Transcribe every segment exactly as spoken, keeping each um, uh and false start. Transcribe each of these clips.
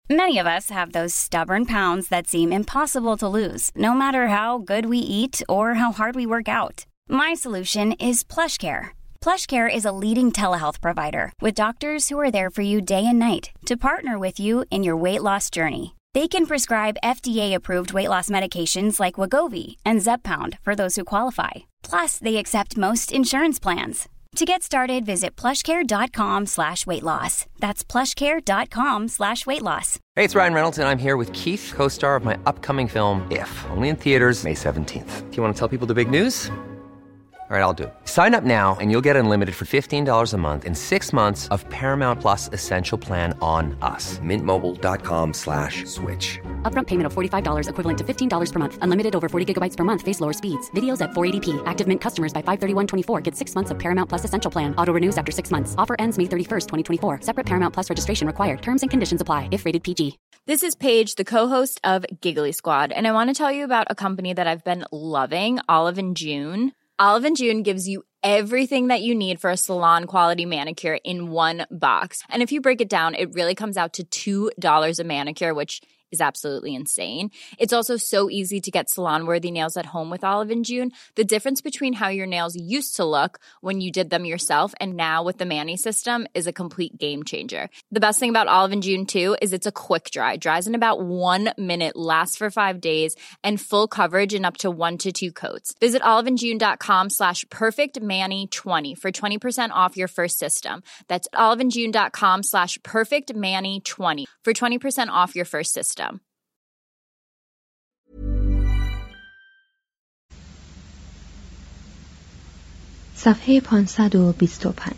Many of us have those stubborn pounds that seem impossible to lose, no matter how good we eat or how hard we work out. My solution is PlushCare. PlushCare is a leading telehealth provider with doctors who are there for you day and night to partner with you in your weight loss journey. They can prescribe F D A-approved weight loss medications like Wegovy and Zepbound for those who qualify. Plus, they accept most insurance plans. To get started, visit plushcare.com slash weight loss. That's plushcare.com slash weight loss. Hey, it's Ryan Reynolds, and I'm here with Keith, co-star of my upcoming film, If, only in theaters May seventeenth. Do you want to tell people the big news? All right, I'll do it. Sign up now and you'll get unlimited for fifteen dollars a month and six months of Paramount Plus Essential Plan on us. Mint Mobile dot com slash switch. Upfront payment of forty-five dollars equivalent to fifteen dollars per month. Unlimited over forty gigabytes per month. Face lower speeds. Videos at four eighty p. Active Mint customers by five thirty-one twenty-four get six months of Paramount Plus Essential Plan. Auto renews after six months. Offer ends May thirty-first, twenty twenty-four. Separate Paramount Plus registration required. Terms and conditions apply if rated P G. This is Paige, the co-host of Giggly Squad, and I want to tell you about a company that I've been loving, Olive and June. Olive and June gives you everything that you need for a salon-quality manicure in one box. And if you break it down, it really comes out to two dollars a manicure, which is absolutely insane. It's also so easy to get salon-worthy nails at home with Olive and June. The difference between how your nails used to look when you did them yourself and now with the Mani system is a complete game changer. The best thing about Olive and June, too, is it's a quick dry. Dries in about one minute, lasts for five days, and full coverage in up to one to two coats. Visit oliveandjune.com slash perfectmani20 for twenty percent off your first system. That's oliveandjune.com slash perfectmani20 for twenty percent off your first system. صفحه پانصد و بیست و پنج.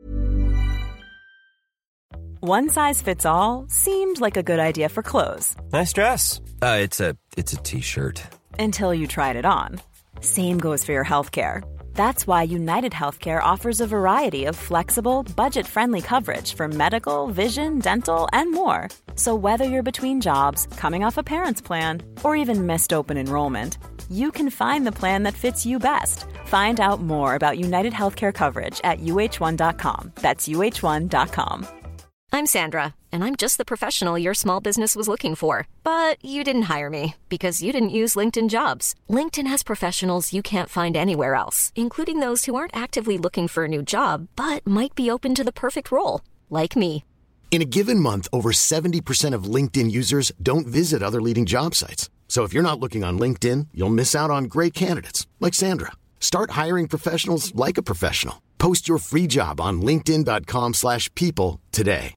One size fits all seemed like a good idea for clothes. Nice dress. Uh, it's a it's a t-shirt. Until you tried it on. Same goes for your healthcare. That's why United Healthcare offers a variety of flexible, budget-friendly coverage for medical, vision, dental, and more. So whether you're between jobs, coming off a parent's plan, or even missed open enrollment, you can find the plan that fits you best. Find out more about United Healthcare coverage at U H one dot com. That's U H one dot com. I'm Sandra, and I'm just the professional your small business was looking for. But you didn't hire me because you didn't use LinkedIn Jobs. LinkedIn has professionals you can't find anywhere else, including those who aren't actively looking for a new job, but might be open to the perfect role, like me. In a given month, over seventy percent of LinkedIn users don't visit other leading job sites. So if you're not looking on LinkedIn, you'll miss out on great candidates like Sandra. Start hiring professionals like a professional. Post your free job on linkedin dot com slash people today.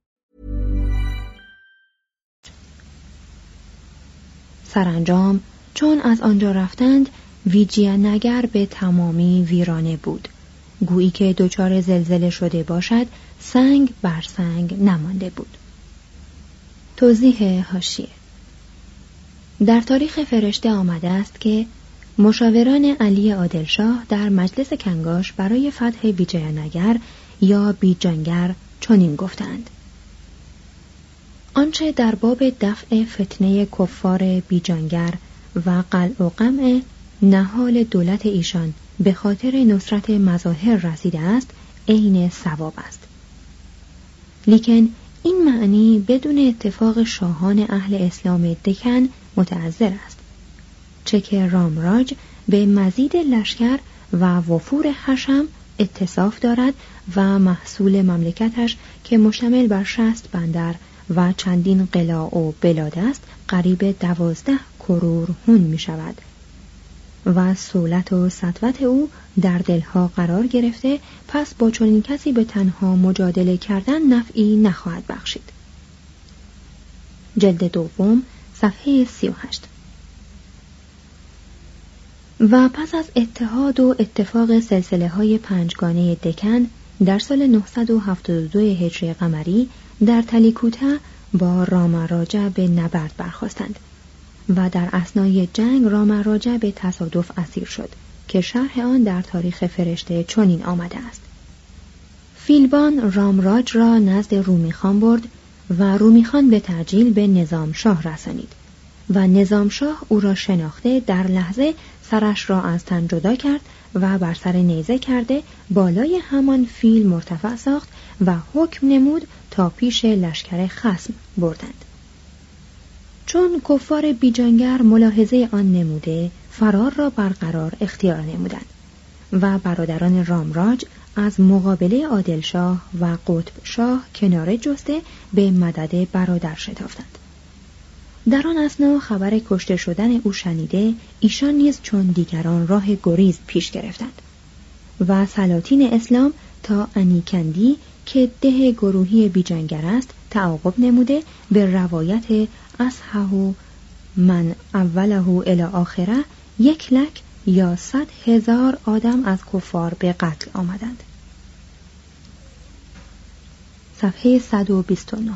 سرانجام چون از آنجا رفتند، ویجیانگر به تمامی ویرانه بود. گویی که دچار زلزله شده باشد، سنگ بر سنگ نمانده بود. توضیح حاشیه: در تاریخ فرشته آمده است که مشاوران علی عادلشاه در مجلس کنگاش برای فتح ویجیانگر یا بیجانگر چنین گفتند: آنچه در باب دفع فتنه کفار بیجانگر و قلع و قمع نهال دولت ایشان به خاطر نصرت مظاهر رسیده است، عین صواب است. لیکن این معنی بدون اتفاق شاهان اهل اسلام دکن متعذر است، چه که رامراج به مزید لشکر و وفور حشم اتصاف دارد و محصول مملکتش که مشتمل بر شصت بندر و چندین قلاع و بلاد است قریب دوازده کرور هون می شود و سولت و سطوت او در دلها قرار گرفته، پس با چنین کسی به تنها مجادله کردن نفعی نخواهد بخشید. جلد دوم صفحه سی و هشت. و پس از اتحاد و اتفاق سلسله های پنجگانه دکن در سال نهصد و هفتاد و دو هجری قمری در تلیکوتا با رامراجا به نبرد برخاستند و در اثنای جنگ رامراجا به تصادف اسیر شد که شرح آن در تاریخ فرشته چنین آمده است: فیلبان رامراج را نزد رومی خان برد و رومی خان به تعجیل به نظام شاه رسانید و نظام شاه او را شناخته در لحظه سرش را از تن جدا کرد و بر سر نیزه کرده بالای همان فیل مرتفع ساخت و حکم نمود تا پیش لشکر خصم بردند. چون کفار بیجانگر ملاحظه آن نموده فرار را برقرار اختیار نمودند و برادران رامراج از مقابله عادلشاه و قطب شاه کناره جسته به مدد برادر شتافتند. در آن اثنا خبر کشته شدن او شنیده ایشان نیز چون دیگران راه گریز پیش گرفتند و سلاطین اسلام تا انیکندی که ده گروهی بیجانگر است تعاقب نموده به روایت اصحه من اوله الی آخره یک لک یا صد هزار آدم از کفار به قتل آمدند. صفحه صد و بیست و نه.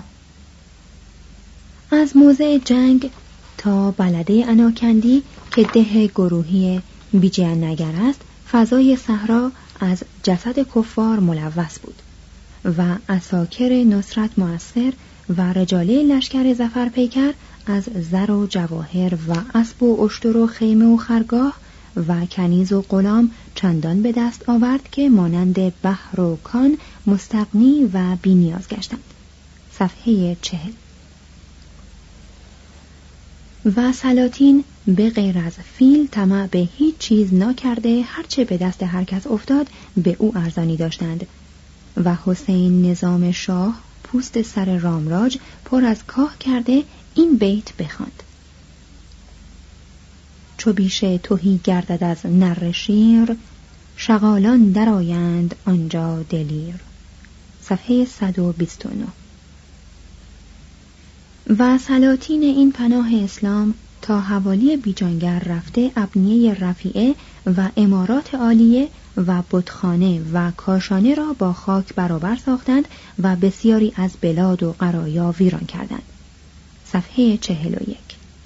از موضع جنگ تا بلده اناکندی که ده گروهی بیجانگر است فضای صحرا از جسد کفار ملوث بود و عساکر نصرت مؤثر و رجاله لشکر ظفر پیکر از زر و جواهر و اسب و اشتر و خیمه و خرگاه و کنیز و غلام چندان به دست آورد که مانند بحر و کان مستغنی و بی نیاز گشتند. صفحه چهل. و سلاطین به غیر از فیل طمع به هیچ چیز ناکرده هرچه به دست هر کس افتاد به او ارزانی داشتند و حسین نظام شاه پوست سر رامراج پر از کاه کرده این بیت بخواند: چو بیشه تهی گردد از نر شیر، شغالان درآیند آنجا دلیر. صفحه صد و بیست و نه. و سلاطین این پناه اسلام تا حوالی بیجانگر رفته ابنیه رفیعه و امارات عالیه و بتخانه و کاشانه را با خاک برابر ساختند و بسیاری از بلاد و قرایا ویران کردند. صفحه چهل و یک.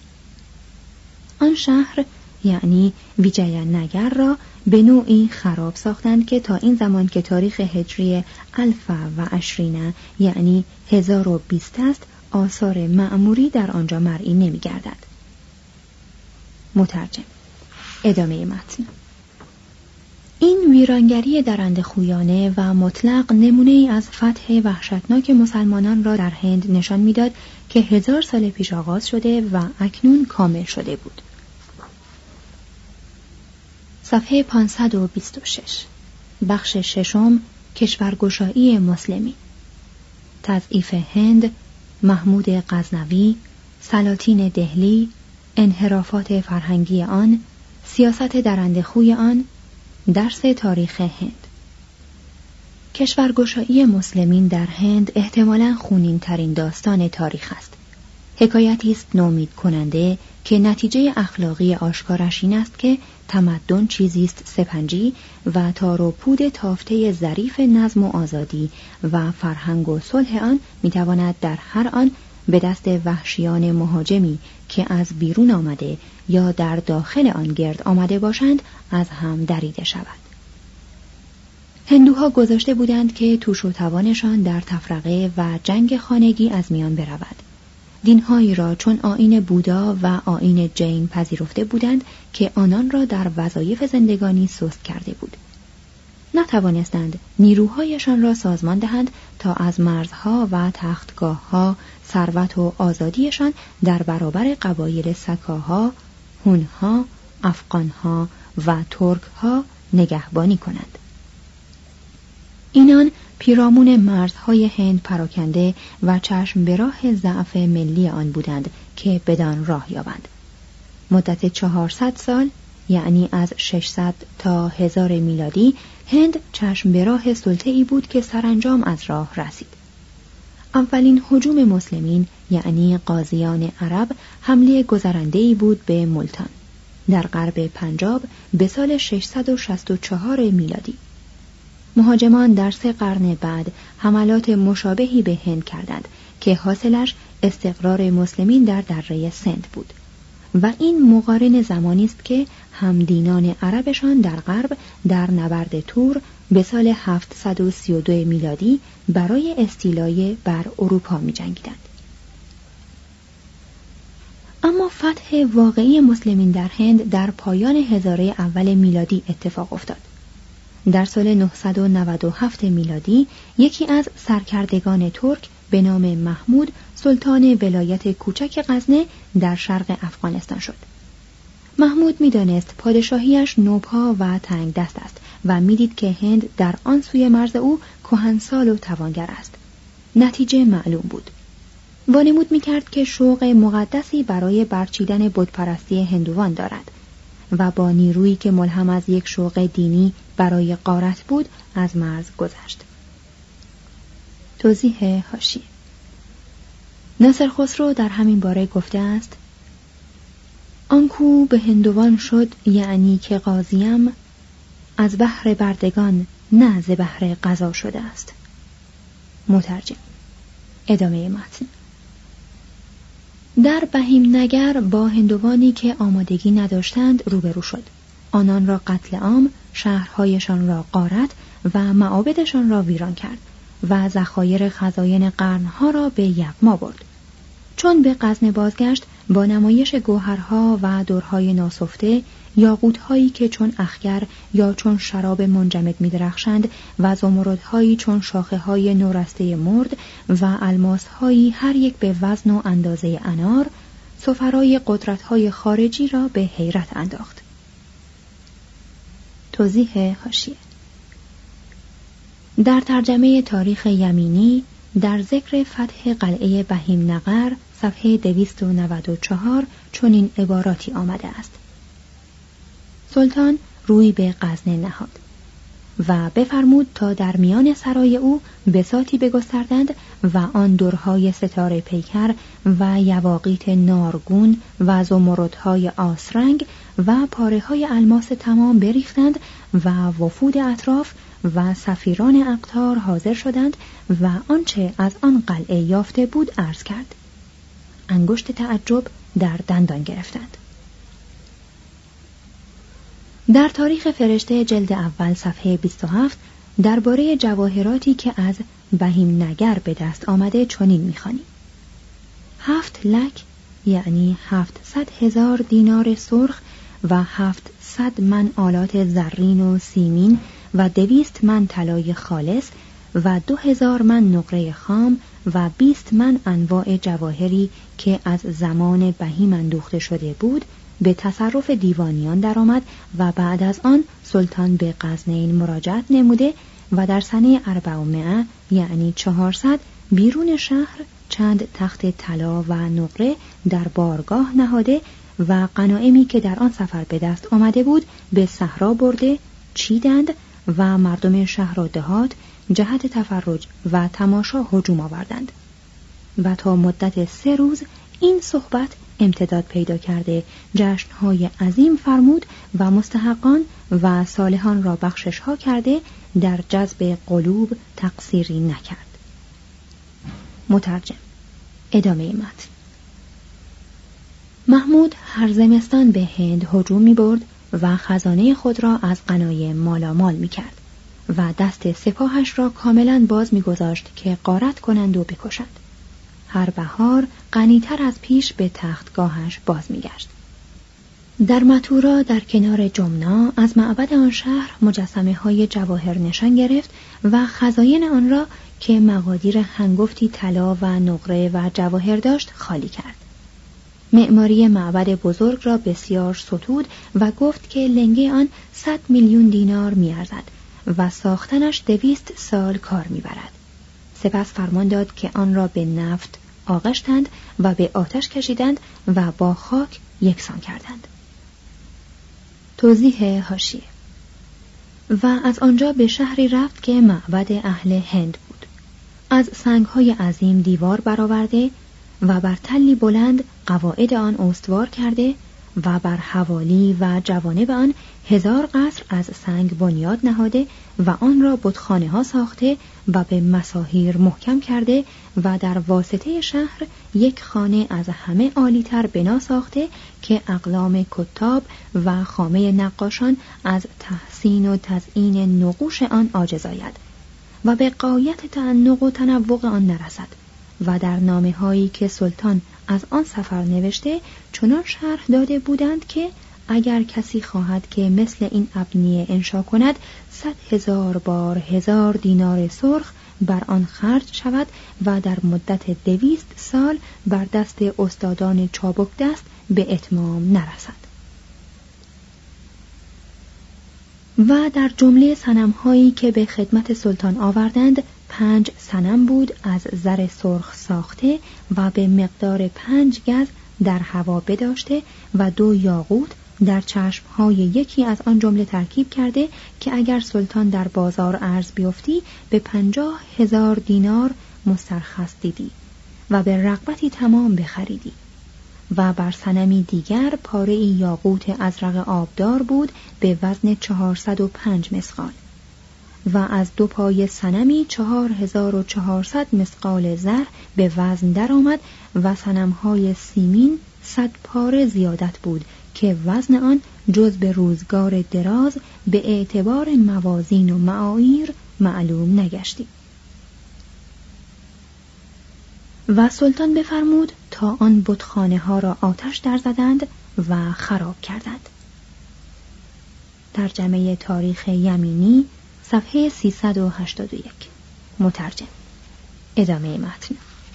آن شهر یعنی ویجاینگر را به نوعی خراب ساختند که تا این زمان که تاریخ هجری الف و عشرین یعنی هزار و بیست است آثار معموری در آنجا مرئی نمی گردد. مترجم. ادامه متن. این ویرانگری درنده خویانه و مطلق نمونه ای از فتح وحشتناک مسلمانان را در هند نشان میداد که هزار سال پیش آغاز شده و اکنون کامل شده بود. صفحه پانصد و بیست و شش. بخش ششم، کشورگشایی مسلمی. تضعیف هند، محمود غزنوی، سلاطین دهلی، انحرافات فرهنگی آن، سیاست درنده خوی آن، درس تاریخ هند. کشورگشایی مسلمین در هند احتمالاً خونین ترین داستان تاریخ است. حکایتی است نومید کننده که نتیجه اخلاقی آشکارش این است که تمدن چیزی است سپنجی و تار و پود تافته ظریف نظم و آزادی و فرهنگ و صلح آن میتواند در هر آن به دست وحشیان مهاجمی که از بیرون آمده یا در داخل آن گرد آمده باشند از هم دریده شود. هندوها گذاشته بودند که توش و توانشان در تفرقه و جنگ خانگی از میان برود. دینهایی را چون آیین بودا و آیین جین پذیرفته بودند که آنان را در وظایف زندگانی سست کرده بود. نتوانستند نیروهایشان را سازمان دهند تا از مرزها و تختگاهها ثروت و آزادیشان در برابر قبایل سکاها، هونها، افغانها و ترکها نگهبانی کنند. اینان پیرامون مرزهای هند پراکنده و چشم به راه ضعف ملی آن بودند که بدان راه یابند. مدت چهارصد سال یعنی از ششصد تا هزار میلادی هند چشم به راه سلطه‌ای بود که سرانجام از راه رسید. اولین هجوم مسلمین یعنی قاضیان عرب حمله گذرنده‌ای بود به ملتان در غرب پنجاب به سال ششصد و شصت و چهار میلادی. مهاجمان در سه قرن بعد حملات مشابهی به هند کردند که حاصلش استقرار مسلمین در دره سند بود و این مقارن زمانی است که همدینان عربشان در غرب در نبرد تور به سال هفتصد و سی و دو میلادی برای استیلای بر اروپا می جنگیدند. اما فتح واقعی مسلمین در هند در پایان هزاره اول میلادی اتفاق افتاد. در سال نهصد و نود و هفت میلادی یکی از سرکردگان ترک به نام محمود سلطان ولایت کوچک غزنه در شرق افغانستان شد. محمود می‌دانست پادشاهیش نوپا و تنگ دست است و می‌دید که هند در آن سوی مرز او کهنسال و توانگر است. نتیجه معلوم بود. وانمود می‌کرد که شوق مقدسی برای برچیدن بتپرستی هندوان دارد و با نیرویی که ملهم از یک شوق دینی برای غارت بود از مرز گذشت. توضیح حاشیه: ناصر خسرو در همین باره گفته است: آنکو به هندوان شد یعنی که قاضیم، از بحر بردگان نه ز بحر قضا شده است. مترجم. ادامه متن. در بهیم نگر با هندوانی که آمادگی نداشتند روبرو شد. آنان را قتل عام، شهرهایشان را غارت و معابدشان را ویران کرد و ذخایر خزاین قرنها را به یغما برد. چون به غزنه بازگشت با نمایش گوهرها و درهای ناسفته، یاقوت‌هایی که چون اخگر یا چون شراب منجمد می‌درخشند و زمردهایی چون شاخه‌های نورسته مرد و الماس‌هایی هر یک به وزن و اندازه انار، سفرای قدرت‌های خارجی را به حیرت انداخت. توضیح حاشیه: در ترجمه تاریخ یمینی در ذکر فتح قلعه بهیم نگر صفحه دویست و نود و چهار چنین عباراتی آمده است: سلطان روی به غزنه نهاد و بفرمود تا در میان سرای او بساطی بگستردند و آن درهای ستاره پیکر و یواقیت نارگون و زمردهای آسرنگ و پاره‌های الماس تمام بریختند و وفود اطراف و سفیران اقطار حاضر شدند و آنچه از آن قلعه یافته بود عرض کرد. انگشت تعجب در دندان گرفتند. در تاریخ فرشته جلد اول صفحه بیست و هفت درباره جواهراتی که از بهیم نگر به دست آمده چنین می‌خوانیم: هفت لک یعنی هفتصد هزار دینار سرخ و هفتصد من آلات زرین و سیمین و دویست من طلای خالص و دو هزار من نقره خام و بیست من انواع جواهری که از زمان بهیم اندوخته شده بود به تصرف دیوانیان درآمد و بعد از آن سلطان به غزنین مراجعت نموده و در سنه اربعمائه یعنی چهارصد بیرون شهر چند تخت طلا و نقره در بارگاه نهاده و غنایمی که در آن سفر به دست آمده بود به صحرا برده چیدند و مردم شهر و دهات جهت تفرج و تماشا هجوم آوردند و تا مدت سه روز این صحبت امتداد پیدا کرده جشن‌های عظیم فرمود و مستحقان و صالحان را بخشش ها کرده در جذب قلوب تقصیری نکرد. مترجم. ادامه متن. محمود هر زمستان به هند هجوم می برد و خزانه خود را از غنایم مالامال می کرد و دست سپاهش را کاملا باز می گذاشت که غارت کنند و بکشند. هر بهار غنی‌تر از پیش به تختگاهش باز می‌گشت. در متورا در کنار جمنا از معبد آن شهر مجسمه‌های جواهر نشان گرفت و خزاین آن را که مقادیر هنگفتی طلا و نقره و جواهر داشت خالی کرد. معماری معبد بزرگ را بسیار ستود و گفت که لنگه آن صد میلیون دینار می‌ارزد و ساختنش دویست سال کار می‌برد. سپس فرمان داد که آن را به نفت آغشتند و به آتش کشیدند و با خاک یکسان کردند. توضیح حاشیه: و از آنجا به شهری رفت که معبد اهل هند بود. از سنگ‌های عظیم دیوار برآورده و بر تلی بلند قواعد آن استوار کرده و بر حوالی و جوانب آن هزار قصر از سنگ بنیاد نهاده و آن را بتخانه ها ساخته و به مساحیر محکم کرده و در واسطه شهر یک خانه از همه عالی‌تر بنا ساخته که اقلام کتاب و خامه نقاشان از تحسین و تزیین نقوش آن عاجز آید و به غایت تعنق و تنوع آن نرسد و در نامه هایی که سلطان از آن سفر نوشته چنان شرح داده بودند که اگر کسی خواهد که مثل این ابنیه انشا کند صد هزار بار هزار دینار سرخ بر آن خرج شود و در مدت دویست سال بر دست استادان چابک دست به اتمام نرسد. و در جمله صنم‌هایی که به خدمت سلطان آوردند پنج صنم بود از زر سرخ ساخته و به مقدار پنج گز در هوا بداشته و دو یاقوت در چشم‌های یکی از آن جمله ترکیب کرده که اگر سلطان در بازار عرض بیفتی به پنجاه هزار دینار مسترخص دیدی و به رغبتی تمام بخریدی. و بر صنمی دیگر پاره یاقوت ازرق آبدار بود به وزن چهارصد و پنج مسقال و از دو پای صنمی چهار هزار و چهارصد مسقال زر به وزن در آمد و صنم‌های سیمین صد پاره زیادت بود که وزن آن جز به روزگار دراز به اعتبار موازین و معایر معلوم نگشتی. و سلطان بفرمود تا آن بتخانه ها را آتش در زدند و خراب کردند. ترجمه تاریخ یمینی صفحه سیصد و هشتاد و یک. مترجم. ادامه متن.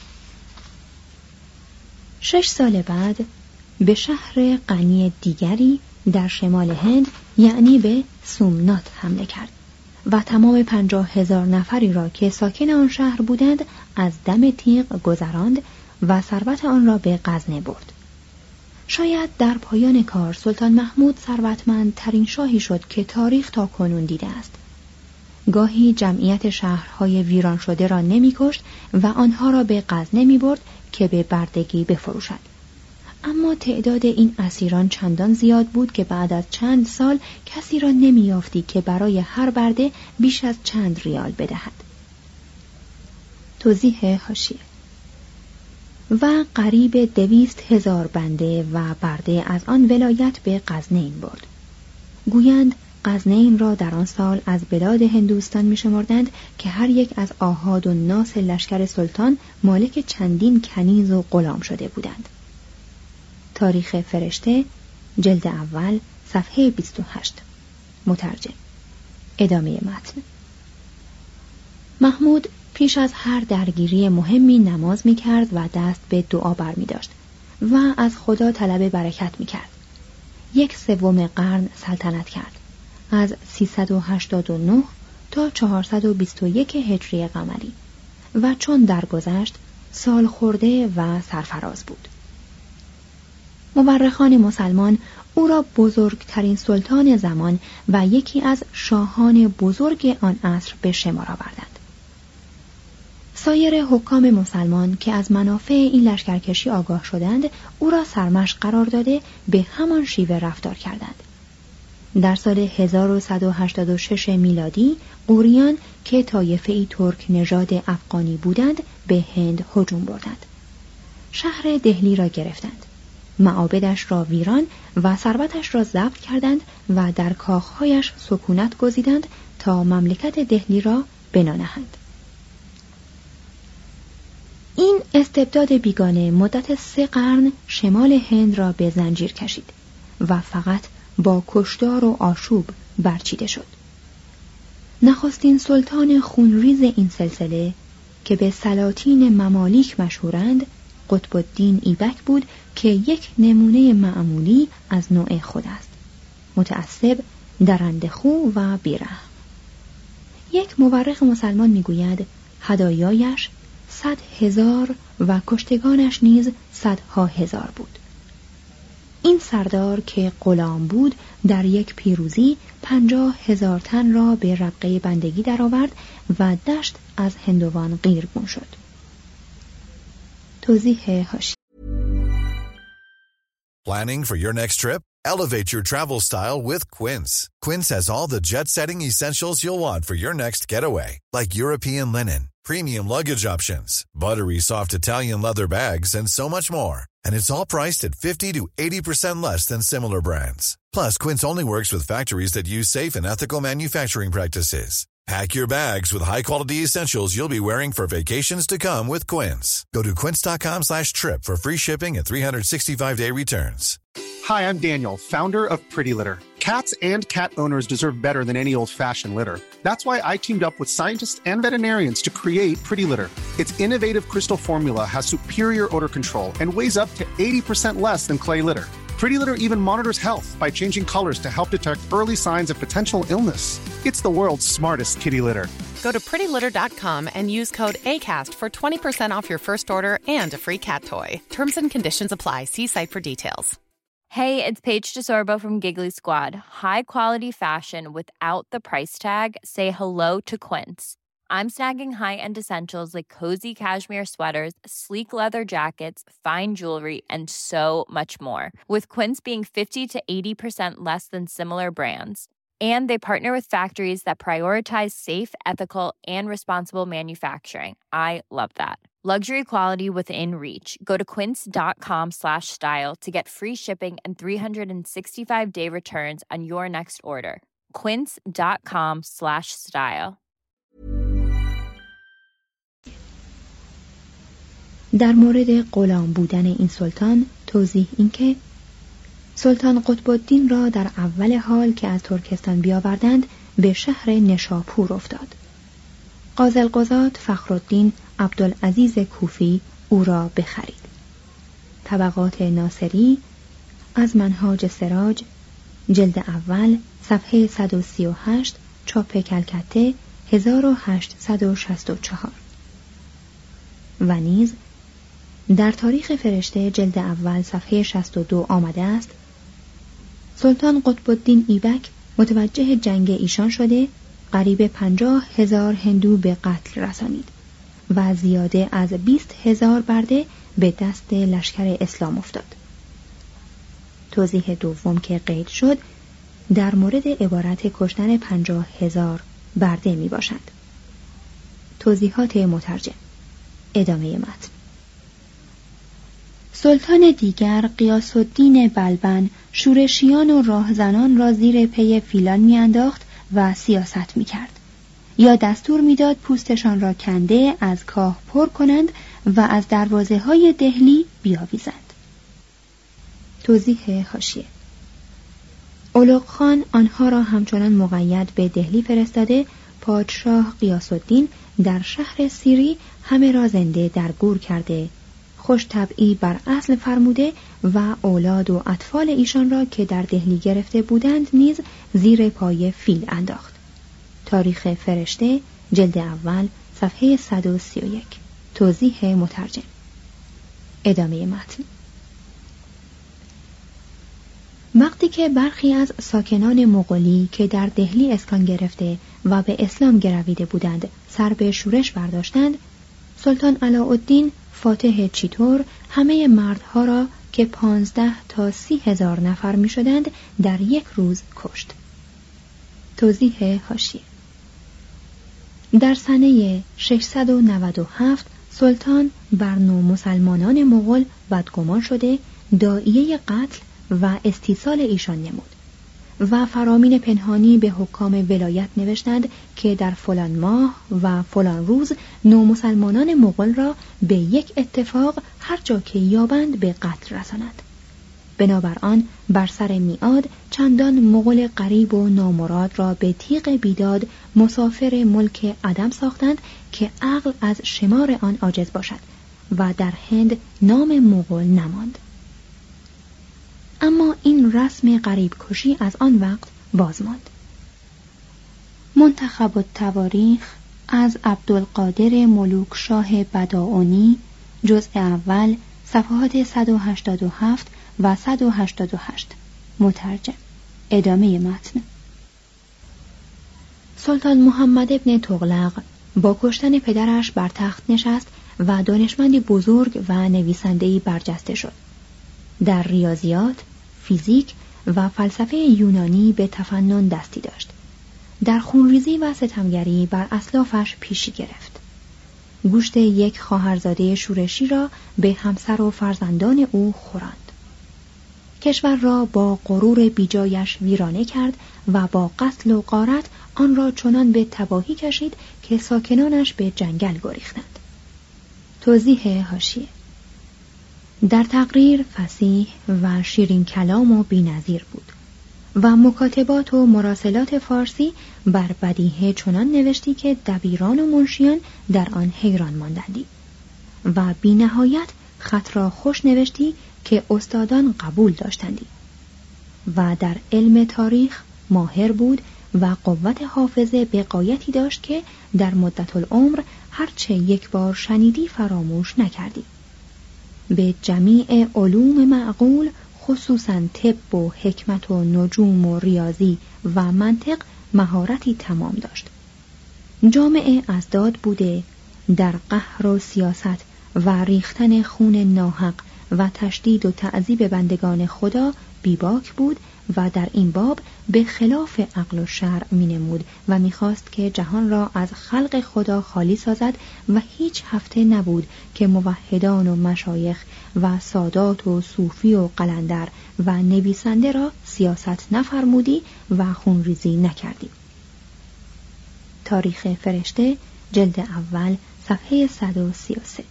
شش سال بعد به شهر غنی دیگری در شمال هند یعنی به سومنات حمله کرد و تمام پنجاه هزار نفری را که ساکن آن شهر بودند از دم تیغ گذراند و ثروت آن را به غزنه برد. شاید در پایان کار سلطان محمود ثروتمندترین شاهی شد که تاریخ تا کنون دیده است. گاهی جمعیت شهرهای ویران شده را نمی کشت و آنها را به غزنه می برد که به بردگی بفروشد. اما تعداد این اسیران چندان زیاد بود که بعد از چند سال کسی را نمی یافتی که برای هر برده بیش از چند ریال بدهد. توضیح حاشیه. و قریب دویست هزار بنده و برده از آن ولایت به غزنین برد. گویند غزنین را در آن سال از بلاد هندوستان می شمردند که هر یک از آحاد و ناس لشکر سلطان مالک چندین کنیز و غلام شده بودند. تاریخ فرشته جلد اول صفحه بیست و هشت. مترجم. ادامه متن. محمود پیش از هر درگیری مهمی نماز می کرد و دست به دعا بر می داشت و از خدا طلب برکت می کرد. یک سوم قرن سلطنت کرد از سیصد و هشتاد و نه تا چهارصد و بیست و یک هجری قمری و چون درگذشت سال خورده و سرفراز بود. مورخان مسلمان او را بزرگترین سلطان زمان و یکی از شاهان بزرگ آن عصر به شمار آوردند. سایر حکام مسلمان که از منافع این لشکرکشی آگاه شدند او را سرمشق قرار داده به همان شیوه رفتار کردند. در سال هزار و صد و هشتاد و شش میلادی غوریان که طایفه‌ای ترک نژاد افغانی بودند به هند هجوم بردند. شهر دهلی را گرفتند. معابدش را ویران و ثروتش را ضبط کردند و در کاخهایش سکونت گزیدند تا مملکت دهلی را بنا نهند. این استبداد بیگانه مدت سه قرن شمال هند را به زنجیر کشید و فقط با کشتار و آشوب برچیده شد. نخستین سلطان خونریز این سلسله که به سلاطین ممالیک مشهورند قطب الدین ایبک بود که یک نمونه معمولی از نوع خود است. متعصب، درندخو و بیرحم. یک مورخ مسلمان میگوید هدایایش صد هزار و کشتگانش نیز صدها هزار بود. این سردار که غلام بود در یک پیروزی پنجاه هزار تن را به ربقه بندگی درآورد و دشت از هندوان قیرگون شد. توضیح حاشیه. Planning for your next trip? Elevate your travel style with Quince. Quince has all the jet-setting essentials you'll want for your next getaway, like European linen, premium luggage options, buttery soft Italian leather bags, and so much more. And it's all priced at fifty to eighty percent less than similar brands. Plus, Quince only works with factories that use safe and ethical manufacturing practices. Pack your bags with high-quality essentials you'll be wearing for vacations to come with Quince. Go to quince.com slash trip for free shipping and three sixty-five day returns. Hi, I'm Daniel, founder of Pretty Litter. Cats and cat owners deserve better than any old-fashioned litter. That's why I teamed up with scientists and veterinarians to create Pretty Litter. Its innovative crystal formula has superior odor control and weighs up to eighty percent less than clay litter. Pretty Litter even monitors health by changing colors to help detect early signs of potential illness. It's the world's smartest kitty litter. Go to pretty litter dot com and use code ACAST for twenty percent off your first order and a free cat toy. Terms and conditions apply. See site for details. Hey, it's Paige DeSorbo from Giggly Squad. High quality fashion without the price tag. Say hello to Quince. I'm snagging high-end essentials like cozy cashmere sweaters, sleek leather jackets, fine jewelry, and so much more. With Quince being fifty to eighty percent less than similar brands. And they partner with factories that prioritize safe, ethical, and responsible manufacturing. I love that. Luxury quality within reach. Go to quince.com slash style to get free shipping and three sixty-five day returns on your next order. quince.com slash style. در مورد غلام بودن این سلطان توضیح این که سلطان قطب الدین را در اول حال که از ترکستان بیاوردند به شهر نشاپور افتاد. قاضی القضات فخرالدین عبدالعزیز کوفی او را بخرید. طبقات ناصری از منهاج سراج جلد اول صفحه صد و سی و هشت چاپ کلکته هزار و هشتصد و شصت و چهار و نیز در تاریخ فرشته جلد اول صفحه شصت و دو آمده است سلطان قطب الدین ایبک متوجه جنگ ایشان شده قریب پنجاه هزار هندو به قتل رسانید و زیاده از بیست هزار برده به دست لشکر اسلام افتاد. توضیح دوم که قید شد در مورد عبارت کشتن پنجاه هزار برده می باشد. توضیحات مترجم. ادامه متن. سلطان دیگر غیاث الدین بلبن شورشیان و راهزنان را زیر پی فیلان میانداخت و سیاست میکرد یا دستور میداد پوستشان را کنده از کاه پر کنند و از دروازه های دهلی بیاویزند. توضیح حاشیه. اولوق خان آنها را همچنان مقید به دهلی فرستاده پادشاه غیاث الدین در شهر سیری همه را زنده در گور کرده خوش طبعی بر اصل فرموده و اولاد و اطفال ایشان را که در دهلی گرفته بودند نیز زیر پای فیل انداخت. تاریخ فرشته جلد اول صفحه صد و سی و یک. توضیح مترجم. ادامه متن. وقتی که برخی از ساکنان مغولی که در دهلی اسکان گرفته و به اسلام گرویده بودند سر به شورش برداشتند، سلطان علاءالدین فاتح چیتور همه مردها را که پانزده تا سی هزار نفر می شدند در یک روز کشت. توضیح حاشیه. در سنه ششصد و نود و هفت سلطان بر نو مسلمانان مغول بدگمان شده داعیه قتل و استیصال ایشان نمود و فرامین پنهانی به حکام ولایت نوشتند که در فلان ماه و فلان روز نو مسلمانان مغول را به یک اتفاق هر جا که یابند به قتل رسانند. بنابر آن بر سر میعاد چندان مغول غریب و نامراد را به تیغ بیداد مسافر ملک عدم ساختند که عقل از شمار آن عاجز باشد و در هند نام مغول نماند. اما این رسم غریب کشی از آن وقت باز ماند. منتخب التواریخ از عبدالقادر ملوک شاه بداعونی جزء اول صفحات صد و هشتاد و هفت و صد و هشتاد و هشت. مترجم. ادامه متن. سلطان محمد ابن تغلق با کشتن پدرش بر تخت نشست و دانشمندی بزرگ و نویسنده‌ای برجسته شد. در ریاضیات، فیزیک و فلسفه یونانی به تفنن دستی داشت. در خونریزی و ستمگری بر اسلافش پیشی گرفت. گوشت یک خواهرزاده شورشی را به همسر و فرزندان او خوراند. کشور را با غرور بیجایش ویرانه کرد و با قتل و غارت آن را چنان به تباهی کشید که ساکنانش به جنگل گریختند. توضیح حاشیه. در تقریر فصیح و شیرین کلام و بی‌نظیر بود. و مکاتبات و مراسلات فارسی بر بدیهه چنان نوشتی که دبیران و منشیان در آن حیران ماندندی و بی نهایت خط را خوش نوشتی که استادان قبول داشتندی و در علم تاریخ ماهر بود و قوت حافظه به غایتی داشت که در مدت العمر هرچه یک بار شنیدی فراموش نکردی. به جمیع علوم معقول خصوصاً طب و حکمت و نجوم و ریاضی و منطق مهارتی تمام داشت. جامعه ازداد بوده، در قهر و سیاست و ریختن خون ناحق و تشدید و تعذیب بندگان خدا بیباک بود و در این باب به خلاف عقل و شرع می نمود و می خواست که جهان را از خلق خدا خالی سازد و هیچ هفته نبود که موحدان و مشایخ و سادات و صوفی و قلندر و نویسنده را سیاست نفرمودی و خونریزی نکردی. تاریخ فرشته جلد اول صفحه صد و سی و سه.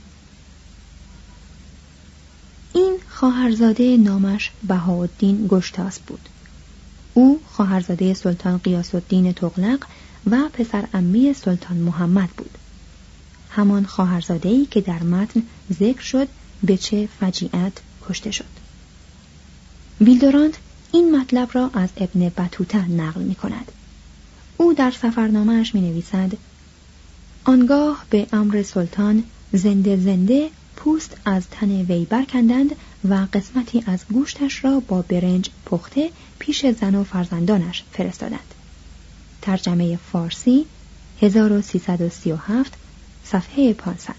این خواهرزاده نامش بهاءالدین گشتاسب بود. او خواهرزاده سلطان غیاث الدین تغلق و پسر عمه سلطان محمد بود. همان خواهرزاده‌ای که در متن ذکر شد به چه فجیعت کشته شد. ویلدورانت این مطلب را از ابن بطوطه نقل می کند. او در سفرنامه‌اش می نویسد: آنگاه به امر سلطان زنده زنده پوست از تن وی برکندند و قسمتی از گوشتش را با برنج پخته پیش زن و فرزندانش فرستادند. ترجمه فارسی هزار و سیصد و سی و هفت صفحه پانصد.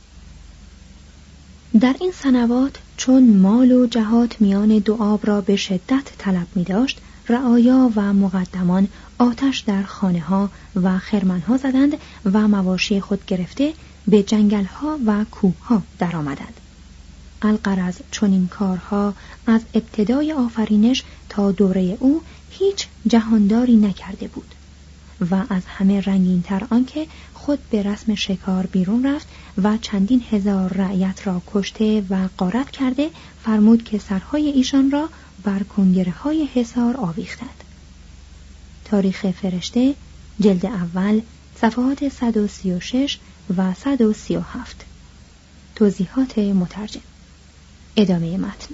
در این سنوات چون مال و جهات میان دو آب را به شدت طلب می داشت، رعایا و مقدمان آتش در خانه ها و خرمن ها زدند و مواشی خود گرفته به جنگل ها و کوه ها در آمدند. الغرض چون این کارها از ابتدای آفرینش تا دوره او هیچ جهانداری نکرده بود و از همه رنگین تر آنکه خود به رسم شکار بیرون رفت و چندین هزار رعیت را کشته و غارت کرده، فرمود که سرهای ایشان را بر کنگره های حصار آویختند. تاریخ فرشته جلد اول صفحات صد و سی و شش و صد و سی و هفت. توضیحات مترجم. ادامه متن.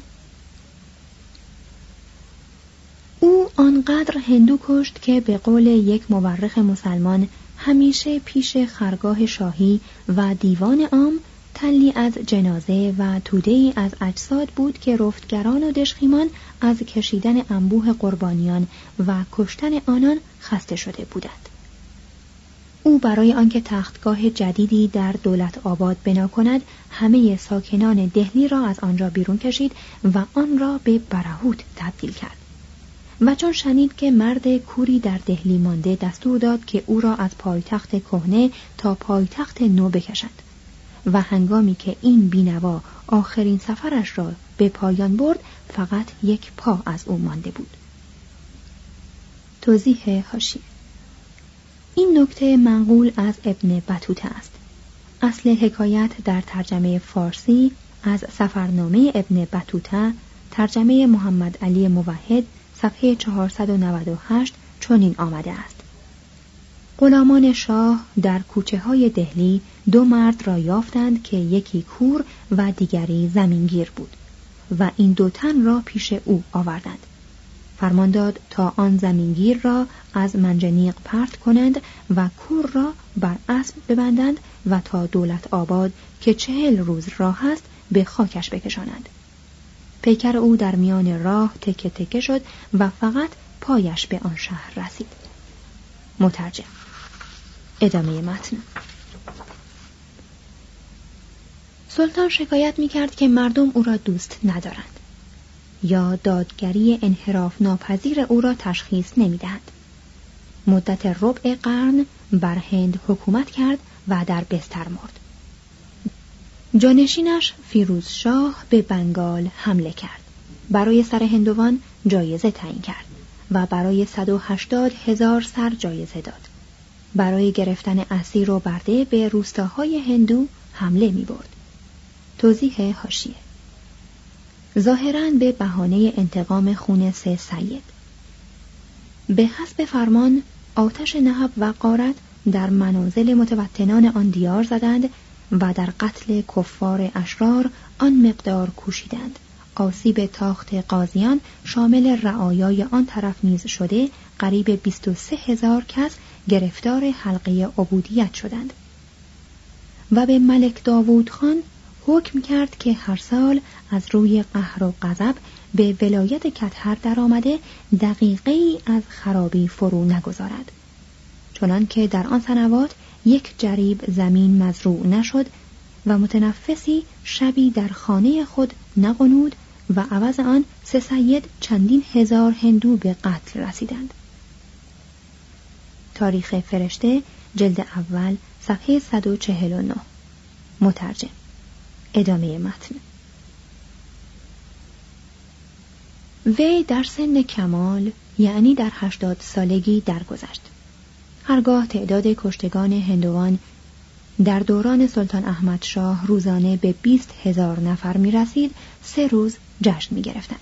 او آنقدر هندو کشت که به قول یک مورخ مسلمان همیشه پیش خرگاه شاهی و دیوان عام تلی از جنازه و توده‌ای از اجساد بود که رفتگران و دشخیمان از کشیدن انبوه قربانیان و کشتن آنان خسته شده بودند. او برای آنکه تختگاه جدیدی در دولت آباد بنا کند، همه ساکنان دهلی را از آنجا بیرون کشید و آن را به برهوت تبدیل کرد. و چون شنید که مرد کوری در دهلی مانده، دستور داد که او را از پایتخت کهنه تا پایتخت نو بکشند و هنگامی که این بینوا آخرین سفرش را به پایان برد، فقط یک پا از او مانده بود. توضیح حاشیه: این نکته منقول از ابن بطوطه است. اصل حکایت در ترجمه فارسی از سفرنامه ابن بطوطه، ترجمه محمد علی موحد، صفحه چهارصد و نود و هشت چنین آمده است: غلامان شاه در کوچه های دهلی دو مرد را یافتند که یکی کور و دیگری زمینگیر بود و این دو تن را پیش او آوردند. فرمان داد تا آن زمینگیر را از منجنیق پرت کنند و کور را بر اسب ببندند و تا دولت آباد که چهل روز راه است به خاکش بکشانند. پیکر او در میان راه تکه تکه شد و فقط پایش به آن شهر رسید. مترجم. ادامه متن. سلطان شکایت می‌کرد که مردم او را دوست ندارند یا دادگری انحراف ناپذیر او را تشخیص نمی‌دهند. مدت ربع قرن بر هند حکومت کرد و در بستر مرد. جانشینش فیروز شاه به بنگال حمله کرد. برای سر هندوان جایزه تعیین کرد و برای صد و هشتاد هزار سر جایزه داد. برای گرفتن اسیر و برده به روستاهای هندو حمله می برد. توضیح حاشیه: ظاهراً به بهانه انتقام خون سه سید. به حسب فرمان آتش نهب و غارت در منازل متوطنان آن دیار زدند و در قتل کفار اشرار آن مقدار کوشیدند. آسیب تاخت قاضیان شامل رعایای آن طرف نیز شده، قریب بیست و سه هزار کس گرفتار حلقه عبودیت شدند. و به ملک داوود خان حکم کرد که هر سال از روی قهر و غضب به ولایت کتهر در آمده دقیقه ای از خرابی فرو نگذارد، چنان که در آن سنوات یک جریب زمین مزروع نشد و متنفسی شبی در خانه خود نغنود و عوض آن سه سید چندین هزار هندو به قتل رسیدند. تاریخ فرشته جلد اول صفحه صد و چهل و نه. مترجم. ادامه متن. وی در سن کمال یعنی در هشتاد سالگی درگذشت. هرگاه تعداد کشتگان هندوان در دوران سلطان احمد شاه روزانه به بیست هزار نفر می رسید، سه روز جشن می گرفتند.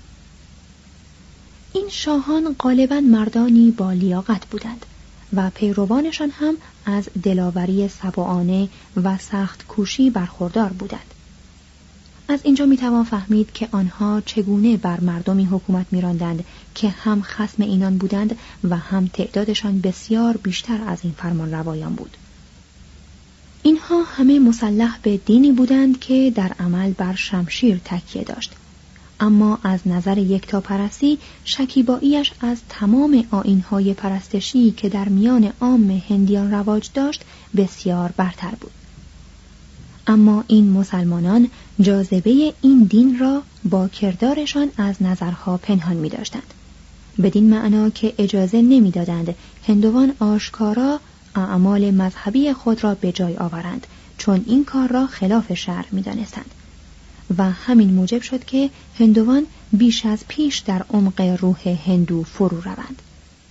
این شاهان غالباً مردانی با لیاقت بودند و پیروانشان هم از دلاوری سبعانه و سخت کوشی برخوردار بودند. از اینجا می توان فهمید که آنها چگونه بر مردمی حکومت می راندند که هم خصم اینان بودند و هم تعدادشان بسیار بیشتر از این فرمان روایان بود. اینها همه مسلح به دینی بودند که در عمل بر شمشیر تکیه داشت، اما از نظر یکتاپرستی شکیباییش از تمام آیین‌های پرستشی که در میان عام هندیان رواج داشت بسیار برتر بود. اما این مسلمانان جاذبه این دین را با کردارشان از نظرها پنهان می داشتند، بدین معنا که اجازه نمی دادند هندوان آشکارا اعمال مذهبی خود را به جای آورند، چون این کار را خلاف شرع می دانستند و همین موجب شد که هندوان بیش از پیش در عمق روح هندو فرو روند.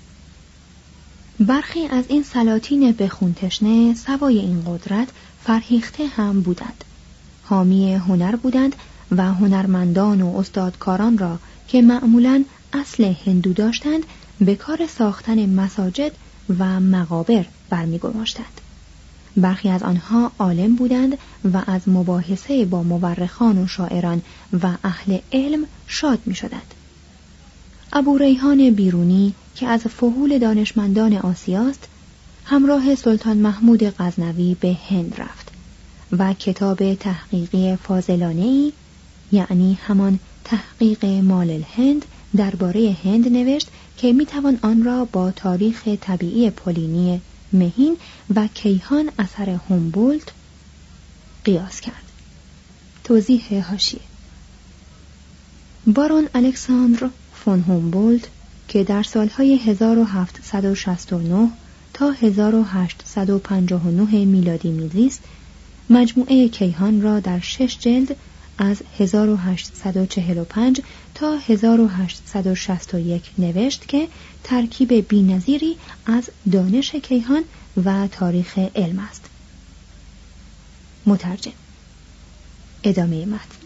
برخی از این سلاطین به خون تشنه سوای این قدرت فرهیخته هم بودند. حامی هنر بودند و هنرمندان و استادکاران را که معمولاً اصل هندو داشتند به کار ساختن مساجد و مقابر برمی‌گماشتند. برخی از آنها عالم بودند و از مباحثه با مورخان و شاعران و اهل علم شاد می‌شدند. ابو ریحان بیرونی که از فحول دانشمندان آسیاست، همراه سلطان محمود غزنوی به هند رفت و کتاب تحقیقی فاضلانه‌ای، یعنی همان تحقیق مال الهند، درباره هند نوشت که میتوان آن را با تاریخ طبیعی پولینی مهین و کیهان اثر هومبولت قیاس کرد. توضیح حاشیه: بارون الکساندر فون هومبولت که در سالهای هزار و هفتصد و شصت و نه تا هزار و هشتصد و پنجاه و نه میلادی میزیست، مجموعه کیهان را در شش جلد از هزار و هشتصد و چهل و پنج تا هزار و هشتصد و شصت و یک نوشت که ترکیب بی‌نظیری از دانش کیهان و تاریخ علم است. مترجم. ادامه متن.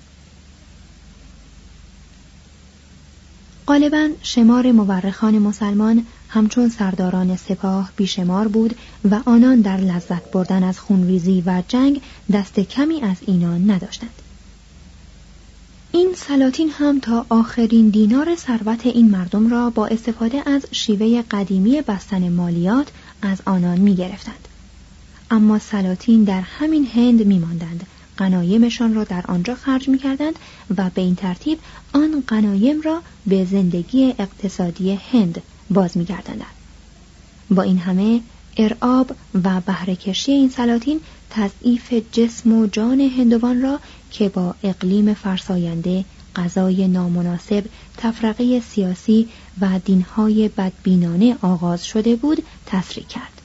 غالباً شمار مورخان مسلمان همچون سرداران سپاه بیشمار بود و آنان در لذت بردن از خونریزی و جنگ دست کمی از اینان نداشتند. این سلاطین هم تا آخرین دینار ثروت این مردم را با استفاده از شیوه قدیمی بستن مالیات از آنان می گرفتند. اما سلاطین در همین هند می ماندند، غنایمشان را در آنجا خرج می کردند و به این ترتیب آن غنایم را به زندگی اقتصادی هند باز می گرداندند. با این همه ارعاب و بهره‌کشی این سلاطین تضعیف جسم و جان هندوان را که با اقلیم فرساینده، غذای نامناسب، تفرقه سیاسی و دینهای بدبینانه آغاز شده بود تسریع کرد.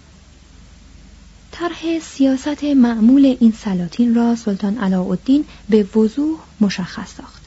طرح سیاست معمول این سلاطین را سلطان علاءالدین به وضوح مشخص ساخت.